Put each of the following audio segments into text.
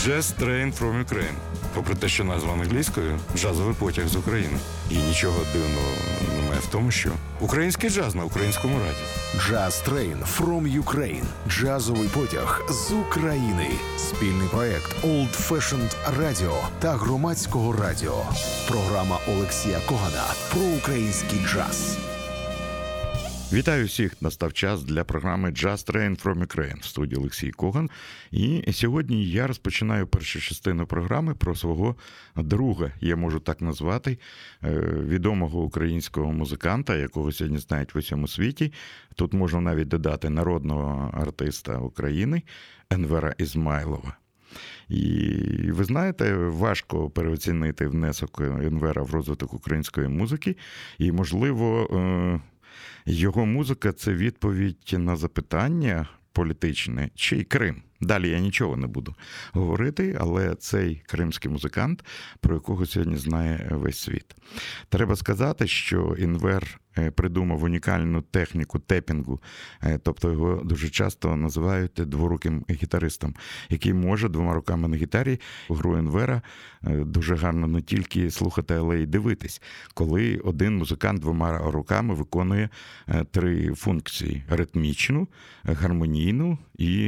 Jazz Train from Ukraine. Попри те, що назва англійською, джазовий потяг з України. І нічого дивного немає в тому, що український джаз на українському радіо. Jazz Train from Ukraine. Джазовий потяг з України. Спільний проект Old Fashioned Radio та Громадського радіо. Програма Олексія Когана про український джаз. Вітаю всіх! Настав час для програми Jazz Train from Ukraine. В студії Олексій Коган. І сьогодні я розпочинаю першу частину програми про свого друга, я можу так назвати, відомого українського музиканта, якого сьогодні знають в усьому світі. Тут можна навіть додати народного артиста України Енвера Ізмайлова. І ви знаєте, важко переоцінити внесок Енвера в розвиток української музики. І, можливо, його музика – це відповідь на запитання політичне, чий Крим. Далі я нічого не буду говорити, але цей кримський музикант, про якого сьогодні знає весь світ. Треба сказати, що Енвер придумав унікальну техніку тепінгу, тобто його дуже часто називають дворуким гітаристом, який може двома руками на гітарі гру Енвера дуже гарно не тільки слухати, але й дивитись, коли один музикант двома руками виконує три функції – ритмічну, гармонійну і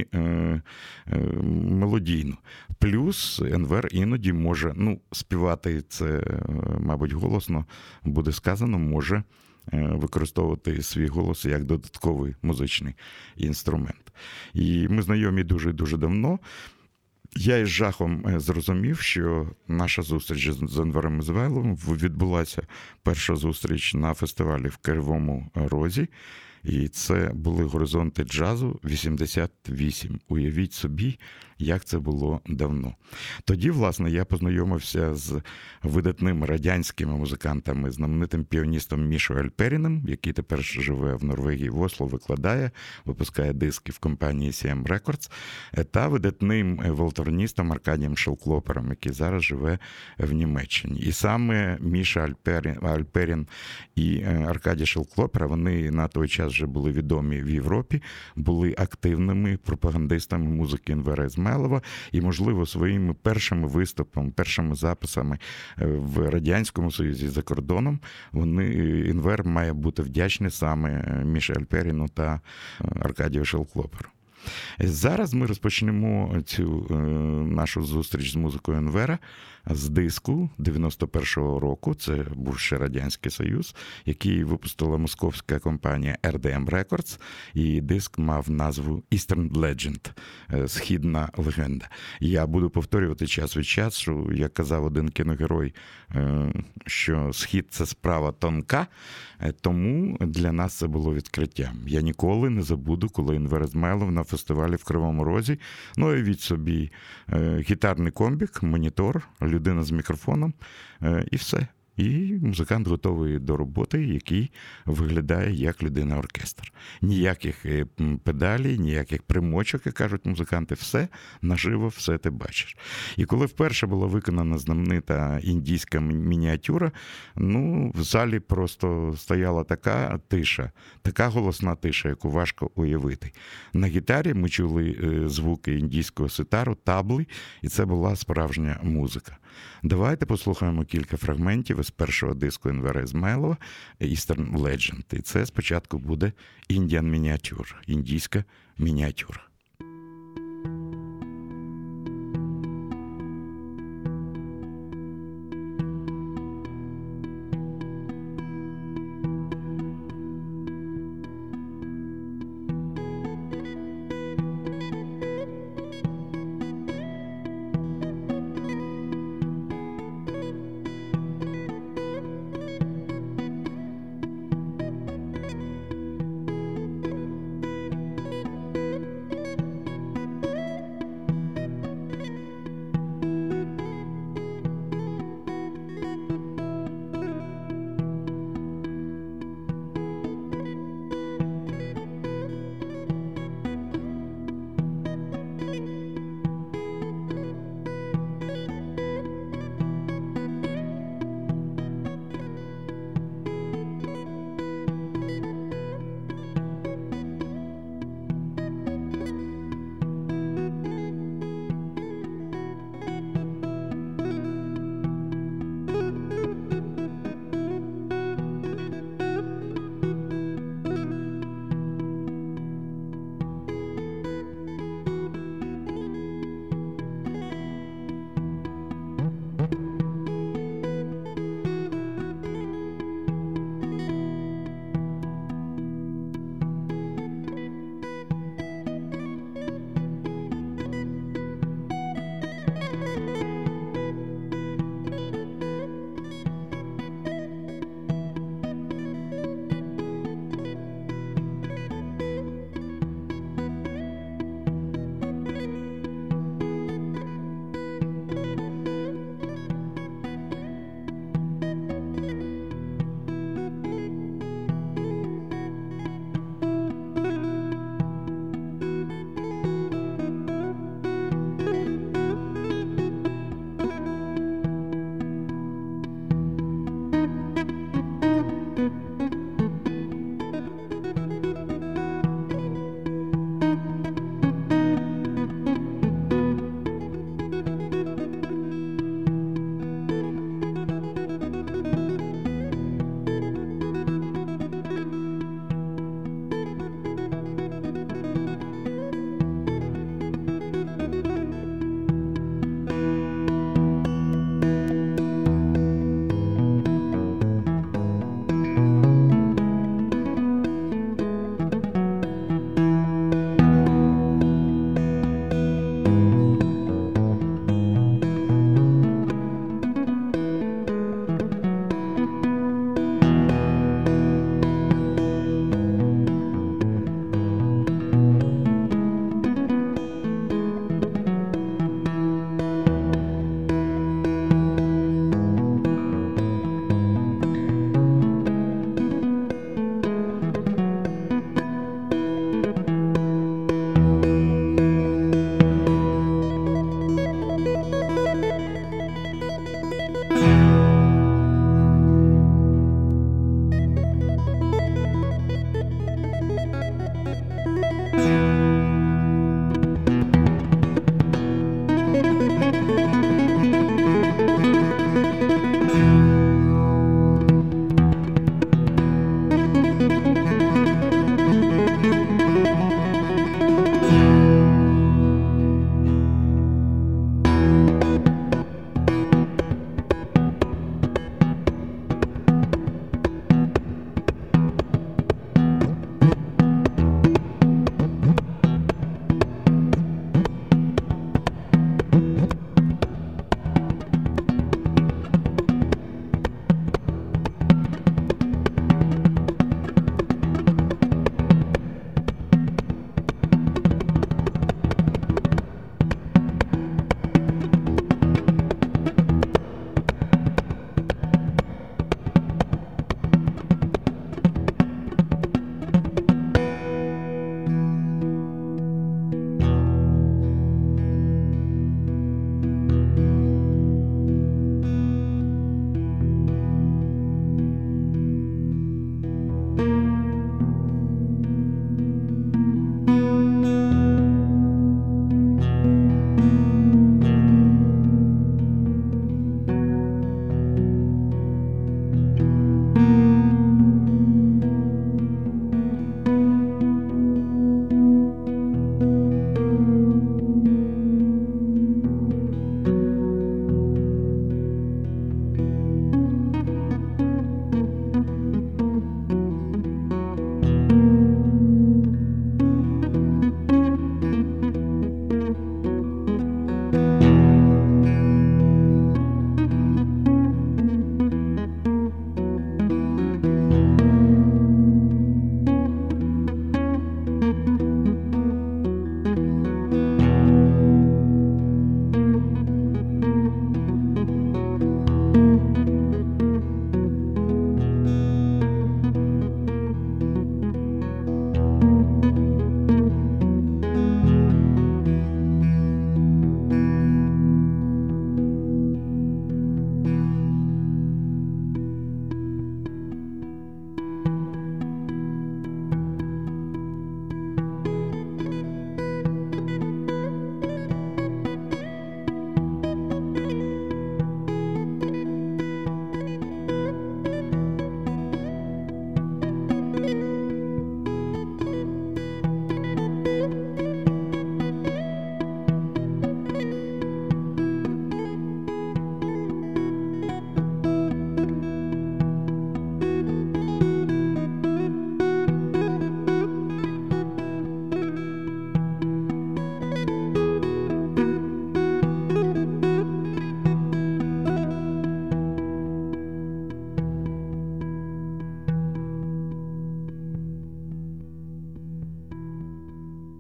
мелодійну. Плюс Енвер іноді може, співати це, мабуть, голосно буде сказано, може використовувати свій голос як додатковий музичний інструмент. І ми знайомі дуже-дуже давно. Я із жахом зрозумів, що наша зустріч з Енвером Ізмайловим відбулася перша зустріч на фестивалі в Кривому Розі. І це були горизонти джазу 88. Уявіть собі, як це було давно. Тоді, власне, я познайомився з видатними радянськими музикантами, знаменитим піаністом Мішою Альперіним, який тепер живе в Норвегії, в Осло, викладає, випускає диски в компанії CM Records, та видатним валторністом Аркадієм Шелклопером, який зараз живе в Німеччині. І саме Міша Альперін і Аркадій Шелклопер, вони на той час вже були відомі в Європі, були активними пропагандистами музики Енвера Ізмайлова і, можливо, своїми першими виступами, першими записами в Радянському Союзі за кордоном, Енвер має бути вдячний саме Міші Альперіну та Аркадію Шелклоперу. Зараз ми розпочнемо цю нашу зустріч з музикою Енвера з диску 91-го року, це був ще Радянський Союз, який випустила московська компанія RDM Records, і диск мав назву Eastern Legend, Східна легенда. Я буду повторювати час від часу, як казав один кіногерой, що Схід – це справа тонка, тому для нас це було відкриттям. Я ніколи не забуду, коли Енвер Ізмайлов на фестивалі в Кривому Розі, уявіть собі, гітарний комбік, монітор, людина з мікрофоном і все. І музикант готовий до роботи, який виглядає як людина-оркестр. Ніяких педалей, ніяких примочок, як кажуть музиканти, все наживо, все ти бачиш. І коли вперше була виконана знаменита індійська мініатюра, в залі просто стояла така тиша, така голосна тиша, яку важко уявити. На гітарі ми чули звуки індійського ситару, табли, і це була справжня музика. Давайте послухаємо кілька фрагментів з першого диску Енвера Ізмайлова Eastern Legend. І це спочатку буде Indian Miniature, індійська мініатюра.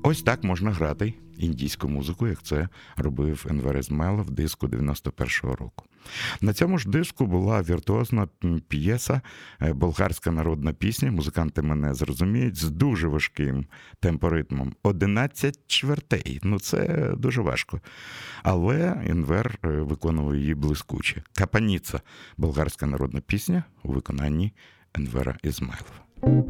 Ось так можна грати індійську музику, як це робив Енвер Ізмайлов в диску 91-го року. На цьому ж диску була віртуозна п'єса, болгарська народна пісня, музиканти мене зрозуміють, з дуже важким темпоритмом. 11 чвертей, це дуже важко. Але Енвер виконував її блискуче. Капаніца, болгарська народна пісня у виконанні Енвера Ізмайлова.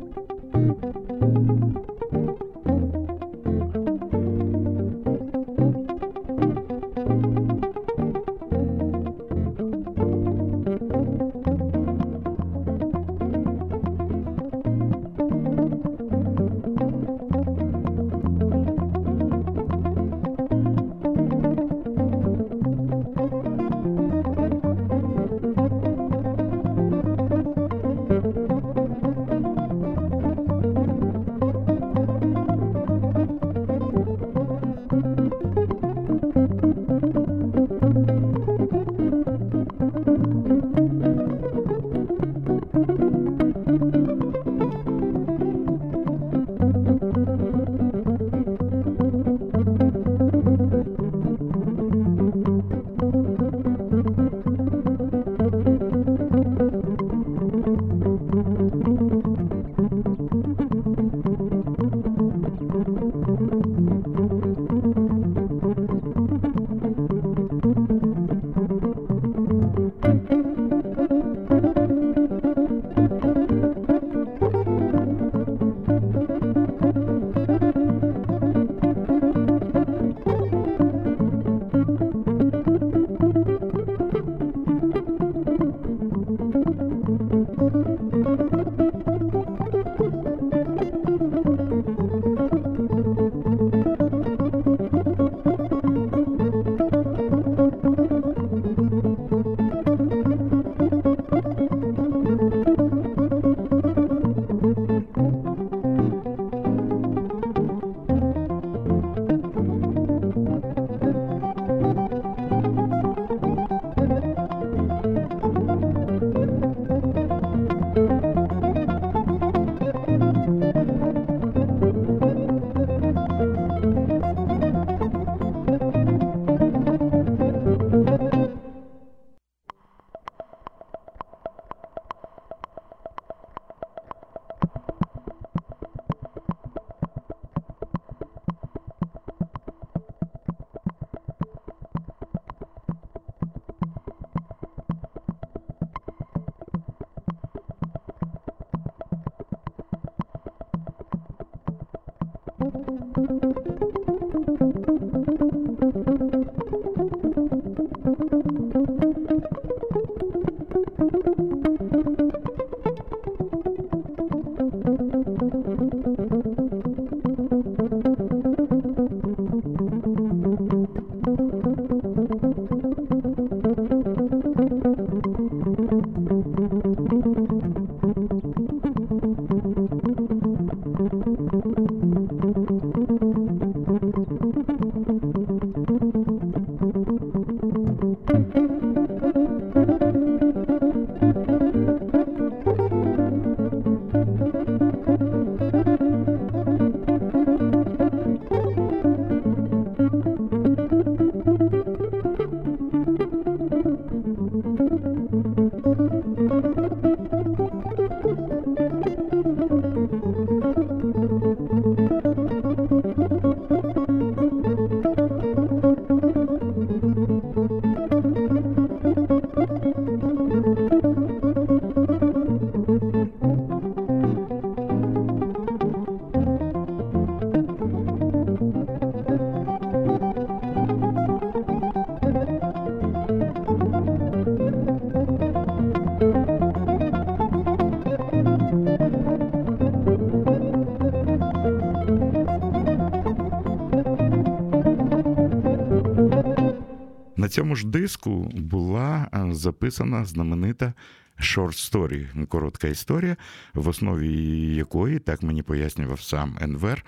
На цьому ж диску була записана знаменита short story, коротка історія, в основі якої, так мені пояснював сам Енвер,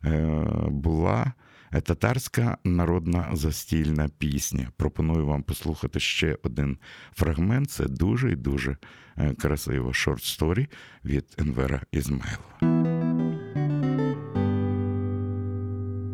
була татарська народна застільна пісня. Пропоную вам послухати ще один фрагмент. Це дуже і дуже красиво. Short story від Енвера Ізмайлова.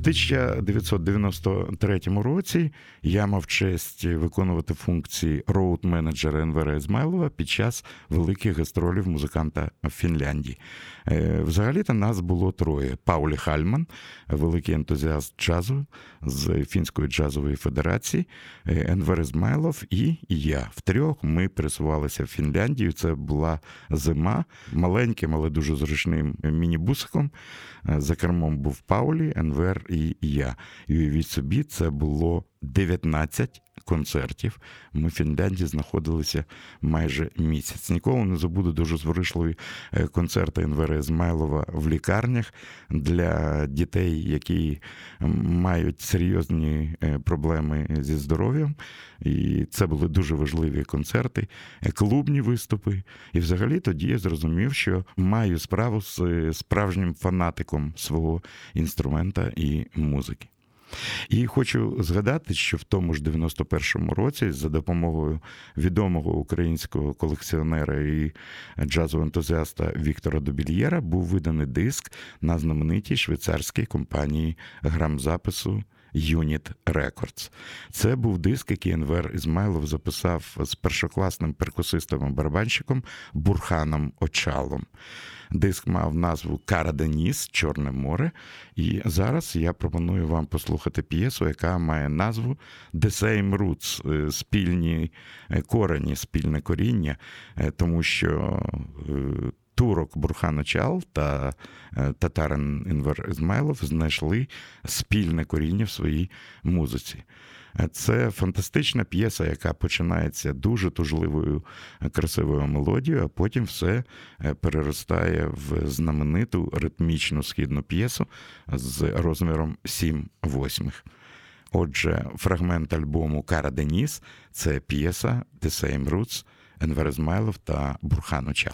1993 році я мав честь виконувати функції роуд-менеджера Енвера Ізмайлова під час великих гастролів музиканта в Фінляндії. Взагалі-то нас було троє. Паулі Хальман, великий ентузіаст джазу з Фінської джазової федерації, Енвер Ізмайлов і я. Втрьох ми пересувалися в Фінляндію. Це була зима. Маленьким, але дуже зручним мінібусиком. За кермом був Паулі, Енвер і я. І уявіть собі, це було 19 концертів. Ми в Фінляндії знаходилися майже місяць. Ніколи не забуду дуже зворушливі концерти Енвера Ізмайлова в лікарнях для дітей, які мають серйозні проблеми зі здоров'ям. І це були дуже важливі концерти, клубні виступи. І взагалі тоді я зрозумів, що маю справу з справжнім фанатиком свого інструмента і музики. І хочу згадати, що в тому ж 91-му році за допомогою відомого українського колекціонера і джазового ентузіаста Віктора Добільєра був виданий диск на знаменитій швейцарській компанії грамзапису Unit Records. Це був диск, який Енвер Ізмайлов записав з першокласним перкусистом-барабанщиком Бурханом Очалом. Диск мав назву «Кара де Ніс» – «Чорне море». І зараз я пропоную вам послухати п'єсу, яка має назву «The Same Roots» – «Спільні корені», «Спільне коріння», тому що турок Бурхан Очал та татарин Енвер Ізмайлов знайшли спільне коріння в своїй музиці. Це фантастична п'єса, яка починається дуже тужливою, красивою мелодією, а потім все переростає в знамениту ритмічну східну п'єсу з розміром 7/8. Отже, фрагмент альбому «Кара де Ніс» – це п'єса «The Same Roots» Енвер Ізмайлов та Бурхан Очал.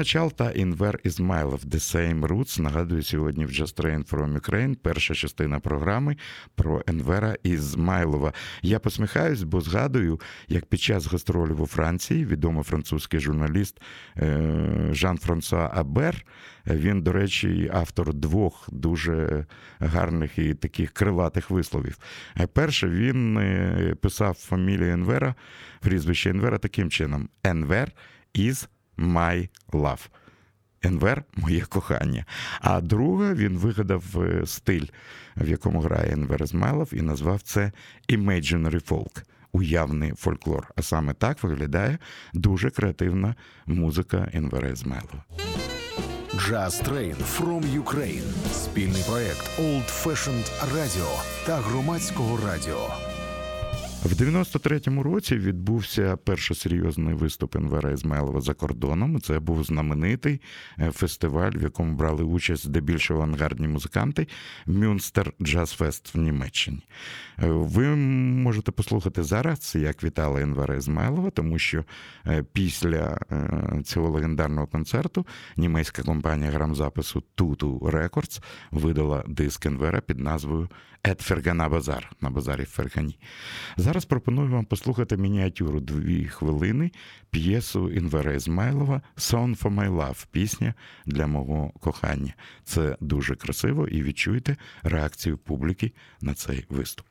Начал та Enver Ізмайлов The Same Roots. Нагадую, сьогодні в Just Train from Ukraine перша частина програми про Енвера Ізмайлова. Я посміхаюсь, бо згадую, як під час гастролів у Франції відомий французький журналіст Жан-Франсуа Абер, він, до речі, автор двох дуже гарних і таких крилатих висловів. Перше, він писав фамілію Енвера, прізвище Енвера таким чином: Enver is my love. Енвер – моє кохання. А друге, він вигадав стиль, в якому грає Енвер Ізмайлов, і назвав це Imaginary Folk. Уявний фольклор. А саме так виглядає дуже креативна музика Енвера Ізмайлова. Just Train from Ukraine. Спільний проект Old Fashioned Radio та Громадського радіо. В 93-му році відбувся перший серйозний виступ Енвера Ізмайлова за кордоном. Це був знаменитий фестиваль, в якому брали участь здебільшого авангардні музиканти, Мюнстер Джаз Фест в Німеччині. Ви можете послухати зараз, як вітали Енвера Ізмайлова, тому що після цього легендарного концерту німецька компанія грамзапису Tutu Records видала диск Енвера під назвою «Ет Фергана Базар» на базарі в Фергані. Зараз пропоную вам послухати мініатюру 2 хвилини, п'єсу Енвера Ізмайлова «Song for my love» – пісня для мого кохання. Це дуже красиво, і відчуйте реакцію публіки на цей виступ.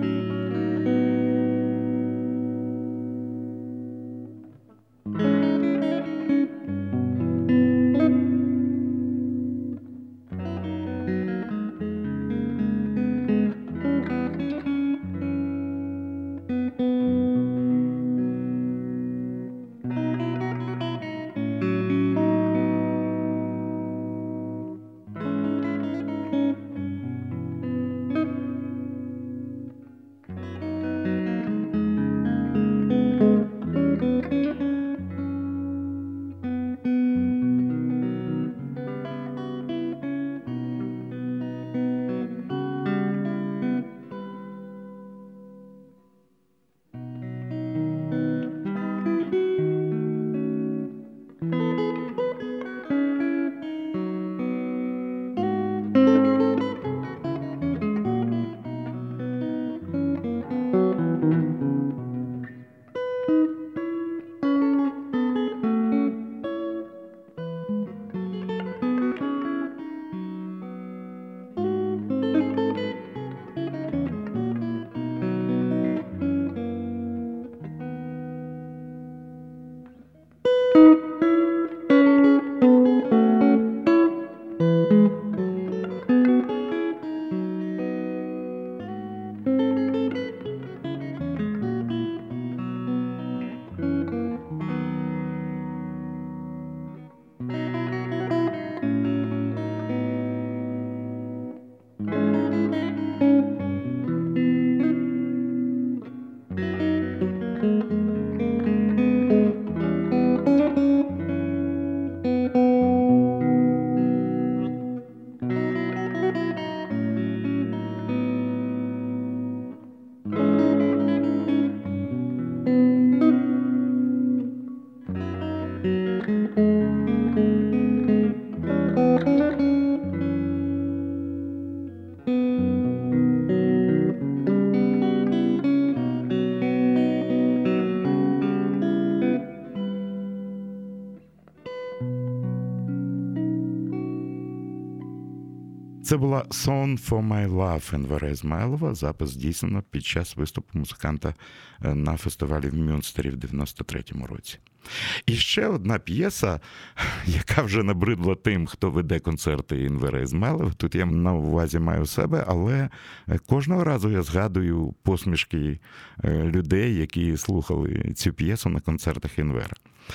Це була «Song for my love» Енвера Ізмайлова. Запис здійснено під час виступу музиканта на фестивалі в Мюнстері в 93-му році. І ще одна п'єса, яка вже набридла тим, хто веде концерти Енвера Ізмайлова. Тут я на увазі маю себе, але кожного разу я згадую посмішки людей, які слухали цю п'єсу на концертах Енвера.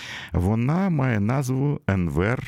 Вона має назву «Енвер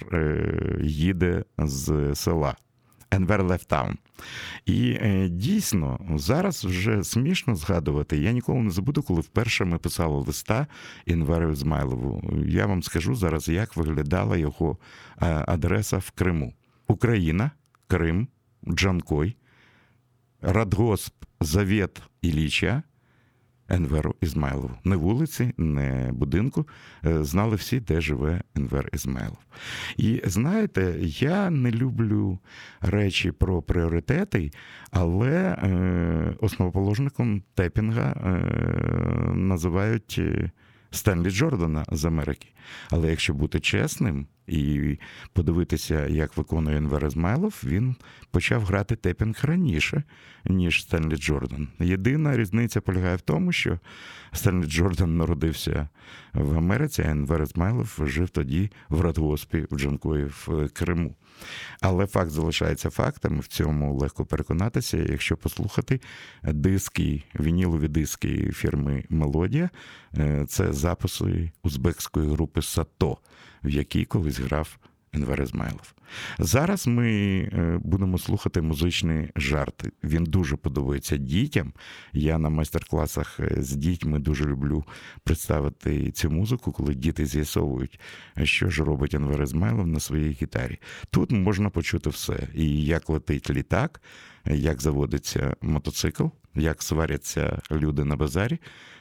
їде з села». Енвер Left Town. І дійсно, зараз вже смішно згадувати. Я ніколи не забуду, коли вперше ми писали листа Енверу Ізмайлову. Я вам скажу зараз, як виглядала його адреса в Криму. Україна, Крим, Джанкой, Радгосп, Завет Ілліча, Енверу Ізмайлову. Не вулиці, не будинку. Знали всі, де живе Енвер Ізмайлов. І знаєте, я не люблю речі про пріоритети, але основоположником тепінга називають Стенлі Джордана з Америки. Але якщо бути чесним і подивитися, як виконує Енвер Ізмайлов, він почав грати тепінг раніше, ніж Стенлі Джордан. Єдина різниця полягає в тому, що Стенлі Джордан народився в Америці, а Енвер Ізмайлов жив тоді в радгоспі в Джанкої в Криму. Але факт залишається фактом, в цьому легко переконатися, якщо послухати диски, вінілові диски фірми «Мелодія». Це записи узбекської групи «Сато», в якій колись грав Енвер Ізмайлов. Зараз ми будемо слухати музичний жарт. Він дуже подобається дітям. Я на майстер-класах з дітьми дуже люблю представити цю музику, коли діти з'ясовують, що ж робить Енвер Ізмайлов на своїй гітарі. Тут можна почути все. І як летить літак, як заводиться мотоцикл, як сваряться люди на базарі,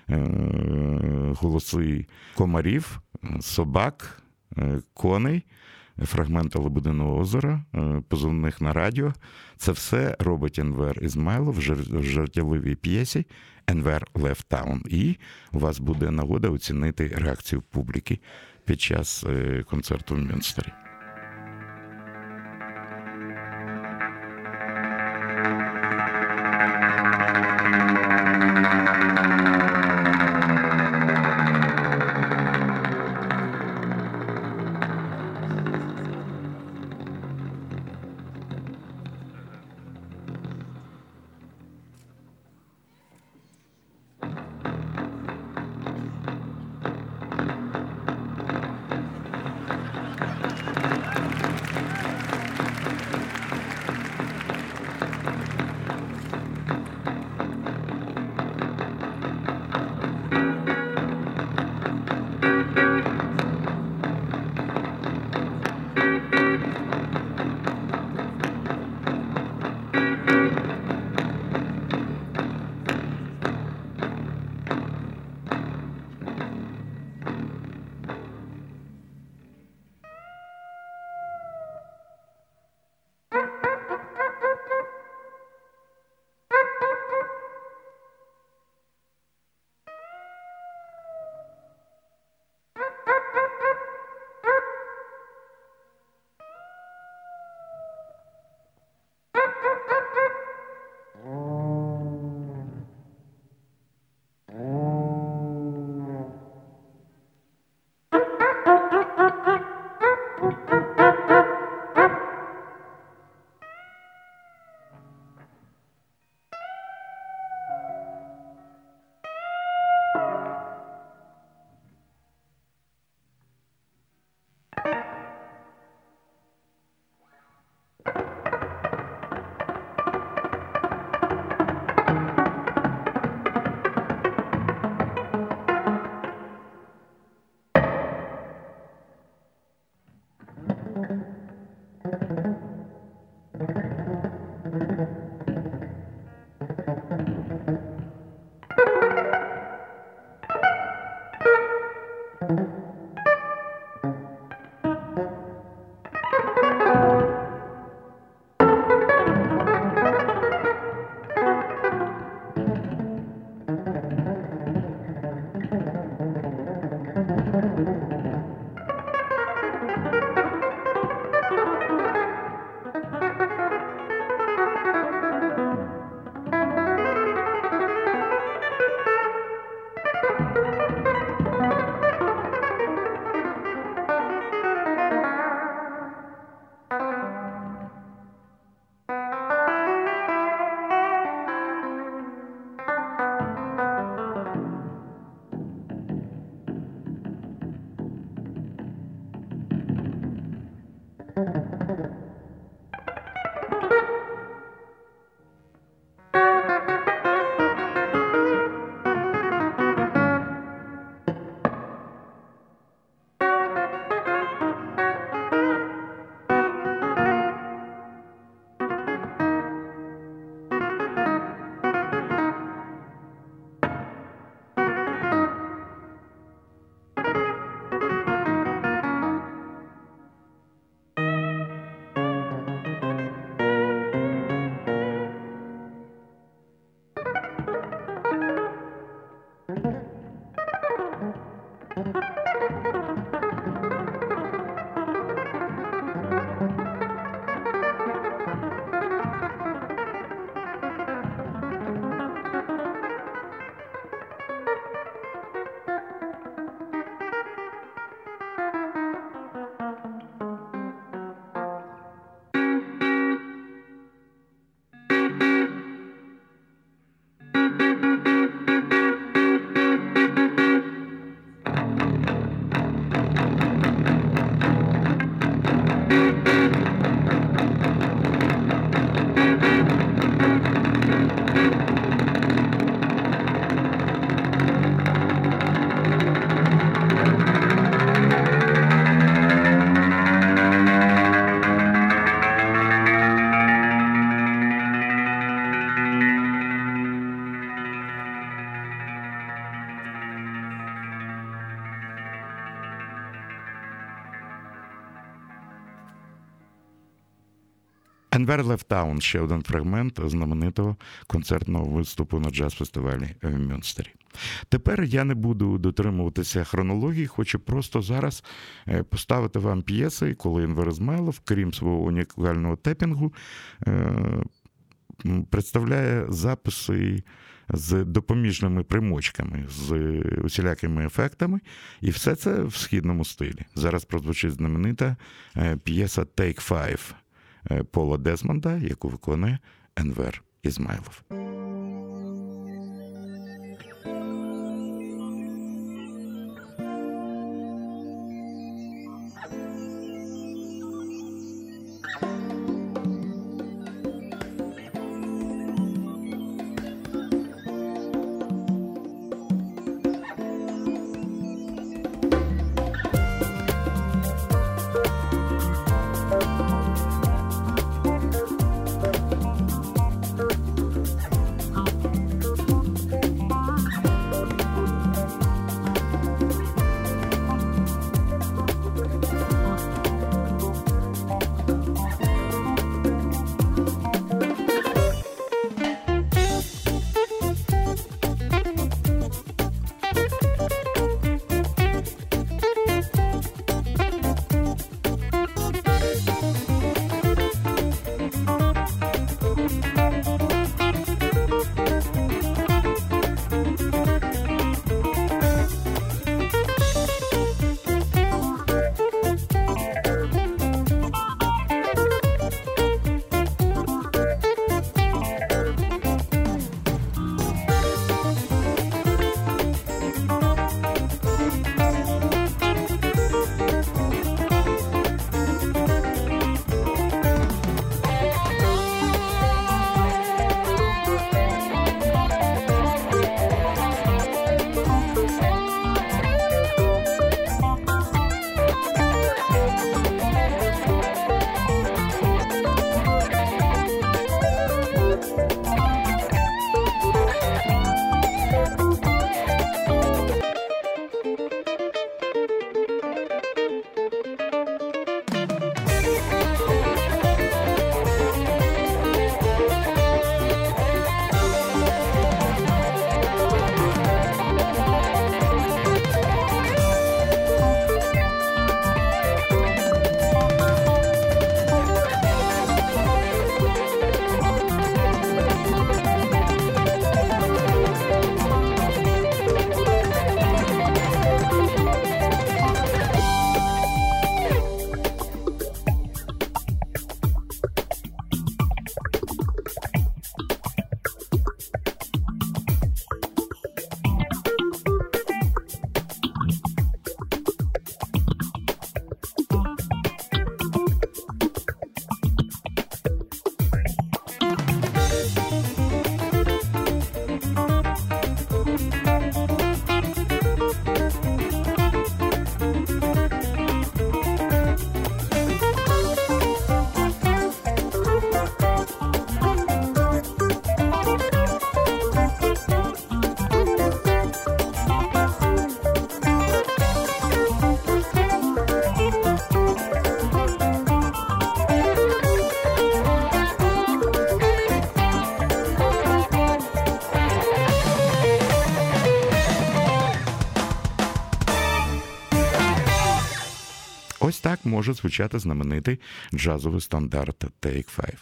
голоси комарів, собак, коней, фрагменти «Лебединого озера», позивних на радіо. Це все робить Енвер Ізмайлов в жартівливій п'єсі «Енвер Left Town». І у вас буде нагода оцінити реакцію публіки під час концерту в Мюнстері. Enver Left Town – ще один фрагмент знаменитого концертного виступу на джаз-фестивалі в Мюнстері. Тепер я не буду дотримуватися хронології, хочу просто зараз поставити вам п'єси, коли Енвер Ізмайлов, крім свого унікального тепінгу, представляє записи з допоміжними примочками, з усілякими ефектами, і все це в східному стилі. Зараз прозвучить знаменита п'єса «Take Five» Пола Дезмонда, яку виконує Енвер Ізмайлов. Ось так може звучати знаменитий джазовий стандарт Take Five.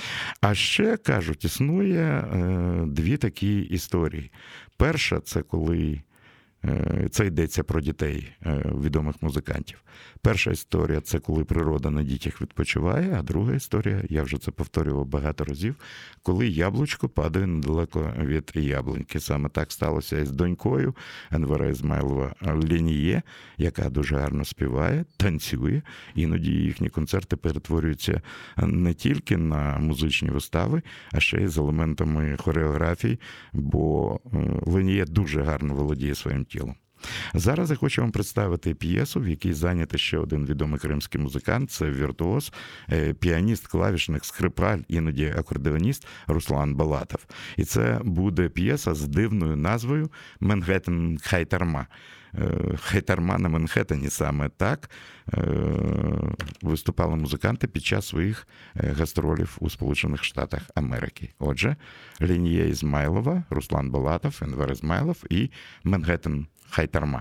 А ще, кажуть, існує дві такі історії. Перша – це коли Це йдеться про дітей відомих музикантів. Перша історія – це коли природа на дітях відпочиває, а друга історія, я вже це повторював багато разів, коли яблучко падає недалеко від яблуньки. Саме так сталося і з донькою Енвера Ізмайлова Леніє, яка дуже гарно співає, танцює. Іноді їхні концерти перетворюються не тільки на музичні вистави, а ще й з елементами хореографії, бо Леніє дуже гарно володіє своїм тілом. Зараз я хочу вам представити п'єсу, в якій зайнятий ще один відомий кримський музикант, це віртуоз, піаніст, клавішник, скрипаль, іноді акордеоніст Руслан Балатов. І це буде п'єса з дивною назвою «Менхеттен Хайтарма». Хайтарма на Манхеттені, саме так виступали музиканти під час своїх гастролів у Сполучених Штатах Америки. Отже, Леніє Ізмайлова, Руслан Балатов, Енвер Ізмайлов і Менхеттен Хайтарма.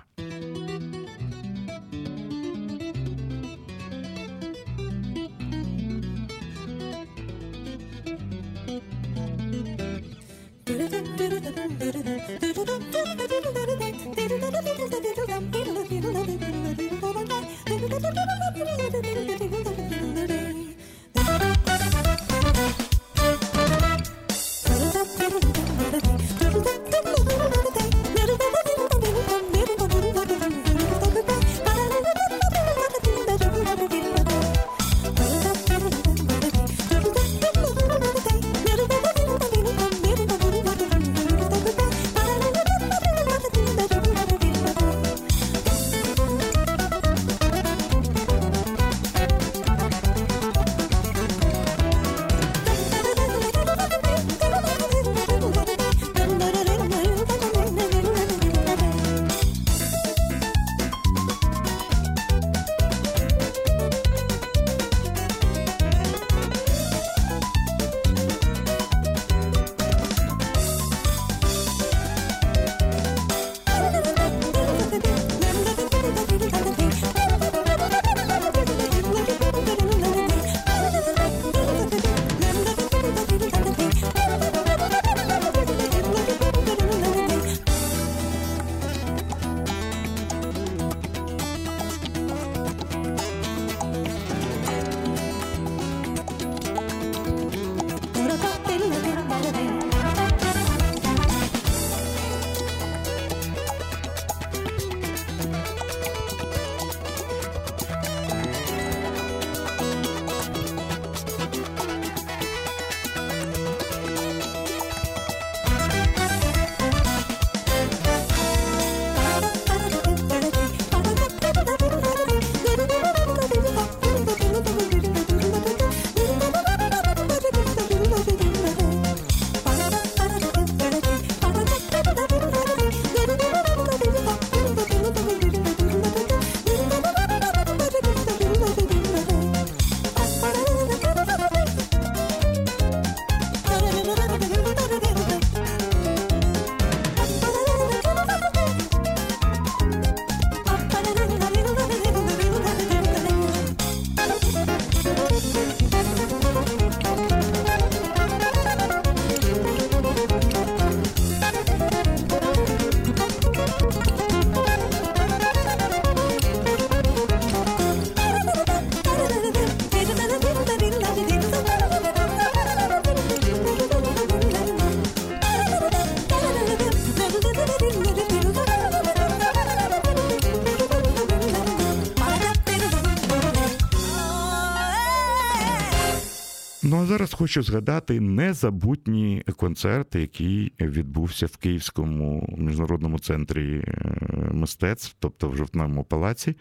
Ну, а зараз хочу згадати незабутній концерт, який відбувся в Київському міжнародному центрі мистецтв, тобто в Жовтневому палаці,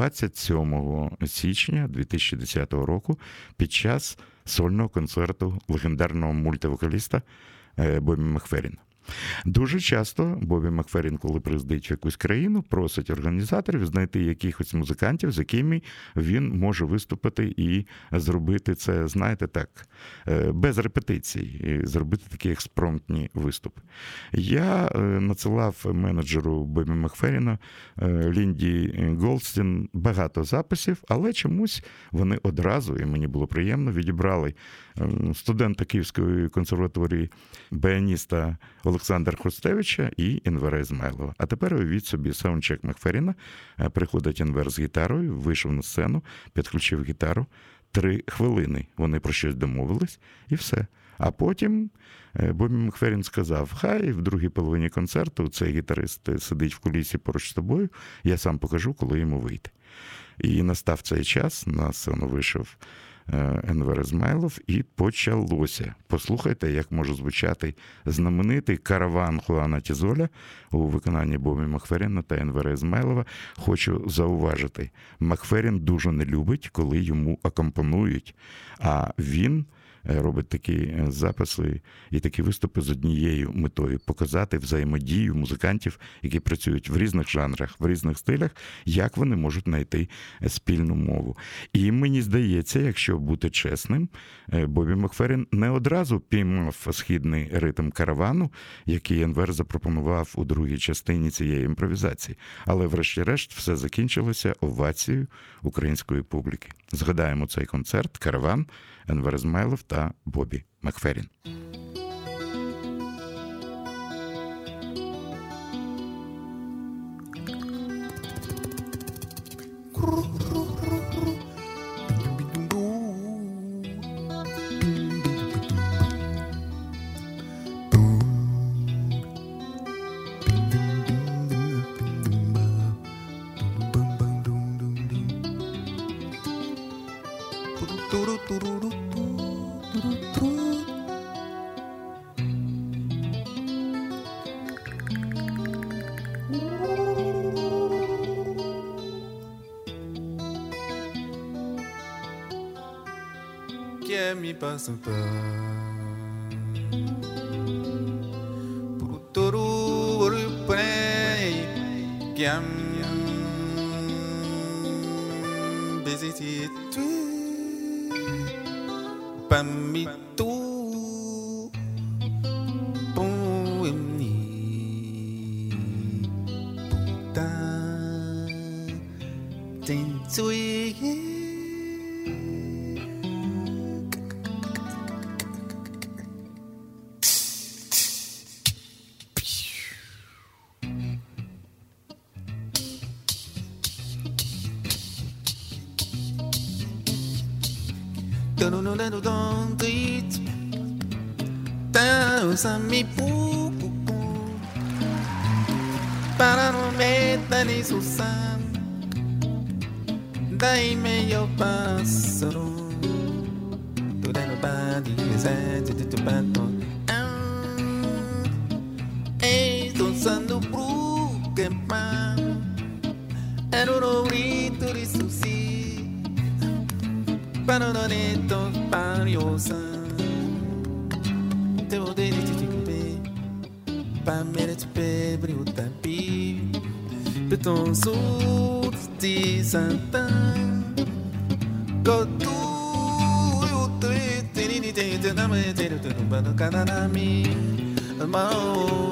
27 січня 2010 року під час сольного концерту легендарного мультивокаліста Бобі Макферріна. Дуже часто Бобі Макферрін, коли приїздить в якусь країну, просить організаторів знайти якихось музикантів, з якими він може виступити і зробити це, знаєте, так, без репетицій, і зробити такі експромтні виступи. Я надсилав менеджеру Бобі Макферріна Лінді Голдстін багато записів, але чомусь вони одразу, і мені було приємно, відібрали студента Київської консерваторії, баяніста Олександра Олександра Хрустевича і Енвера Ізмайлова. А тепер уявіть собі саундчек Макферріна. Приходить Енвер з гітарою, вийшов на сцену, підключив гітару. 3 хвилини вони про щось домовились, і все. А потім Бобі Макферрін сказав, хай в другій половині концерту цей гітарист сидить в кулісі поруч з тобою, я сам покажу, коли йому вийти. І настав цей час, на сцену вийшов Енвер Ізмайлов, і почалося. Послухайте, як може звучати знаменитий «Караван» Хуана Тізоля у виконанні Бобі Макферріна та Енвера Ізмайлова. Хочу зауважити, Макферрін дуже не любить, коли йому акомпонують, а він робить такі записи і такі виступи з однією метою – показати взаємодію музикантів, які працюють в різних жанрах, в різних стилях, як вони можуть знайти спільну мову. І мені здається, якщо бути чесним, Бобі Макферрін не одразу піймав східний ритм «Каравану», який Енвер запропонував у другій частині цієї імпровізації. Але врешті-решт все закінчилося овацією української публіки. Згадаємо цей концерт «Караван», Енвер Ізмайлов та Бобі Макферрін. Que me passa Puturu prei Kiam Beziti Pamitu Poemni Puta Tensui mi pupu para no meter ni su san dai meglio passero tu dai no badi esente tu batto e tu sanno bru che pa ero no grito di su si para no netto pariosa Pa mere te pebre o tapi Beton sul di santan Kotu o tre tini te na me te te no bano kanami Mao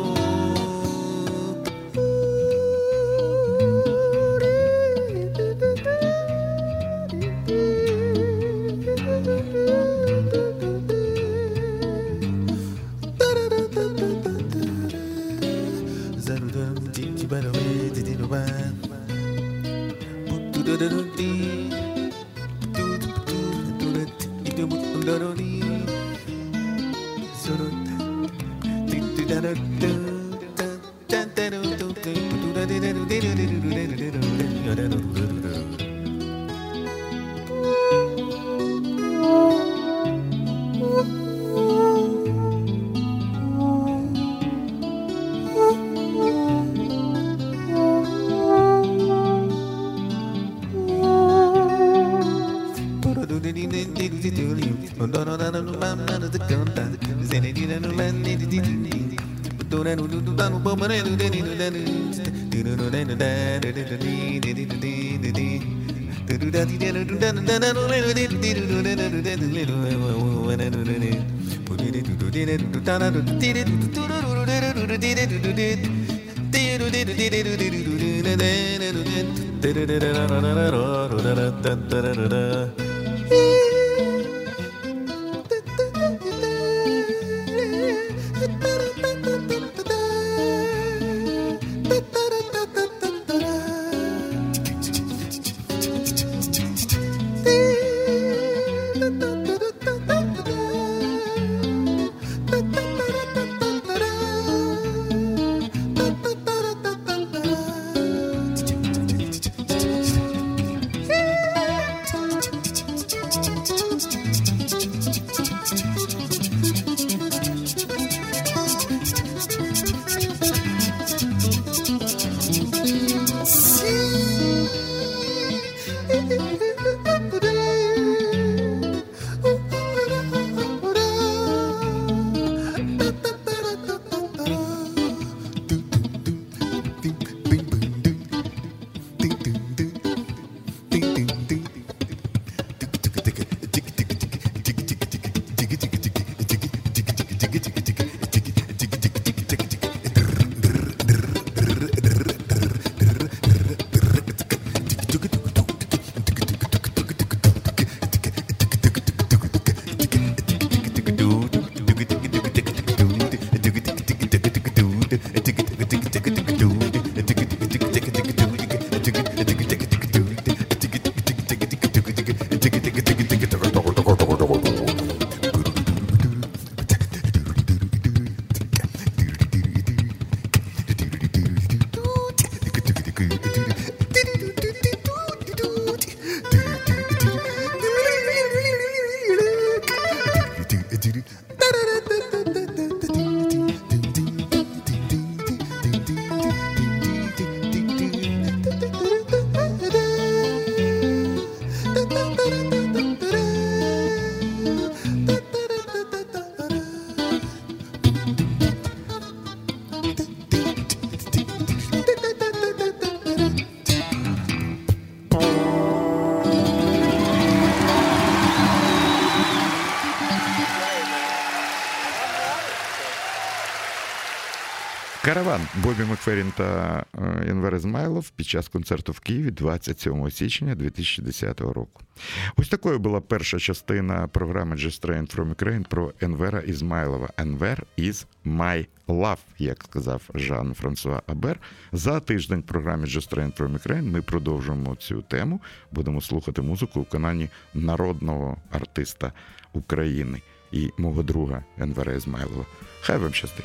Караван Бобі Макферрін та Енвер Ізмайлов під час концерту в Києві 27 січня 2010 року. Ось такою була перша частина програми Just Train from Ukraine про Енвера Ізмайлова. Енвер is my love, як сказав Жан-Франсуа Абер. За тиждень в програмі Just Train from Ukraine ми продовжуємо цю тему. Будемо слухати музику в виконанні народного артиста України і мого друга Енвера Ізмайлова. Хай вам щастить.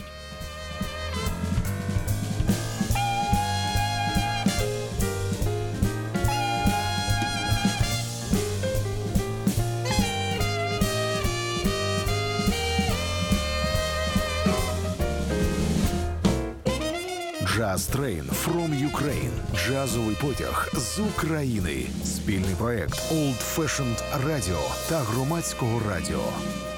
Jazz Train from Ukraine. Джазовий потяг з України. Спільний проект Old Fashioned Radio та Громадського радіо.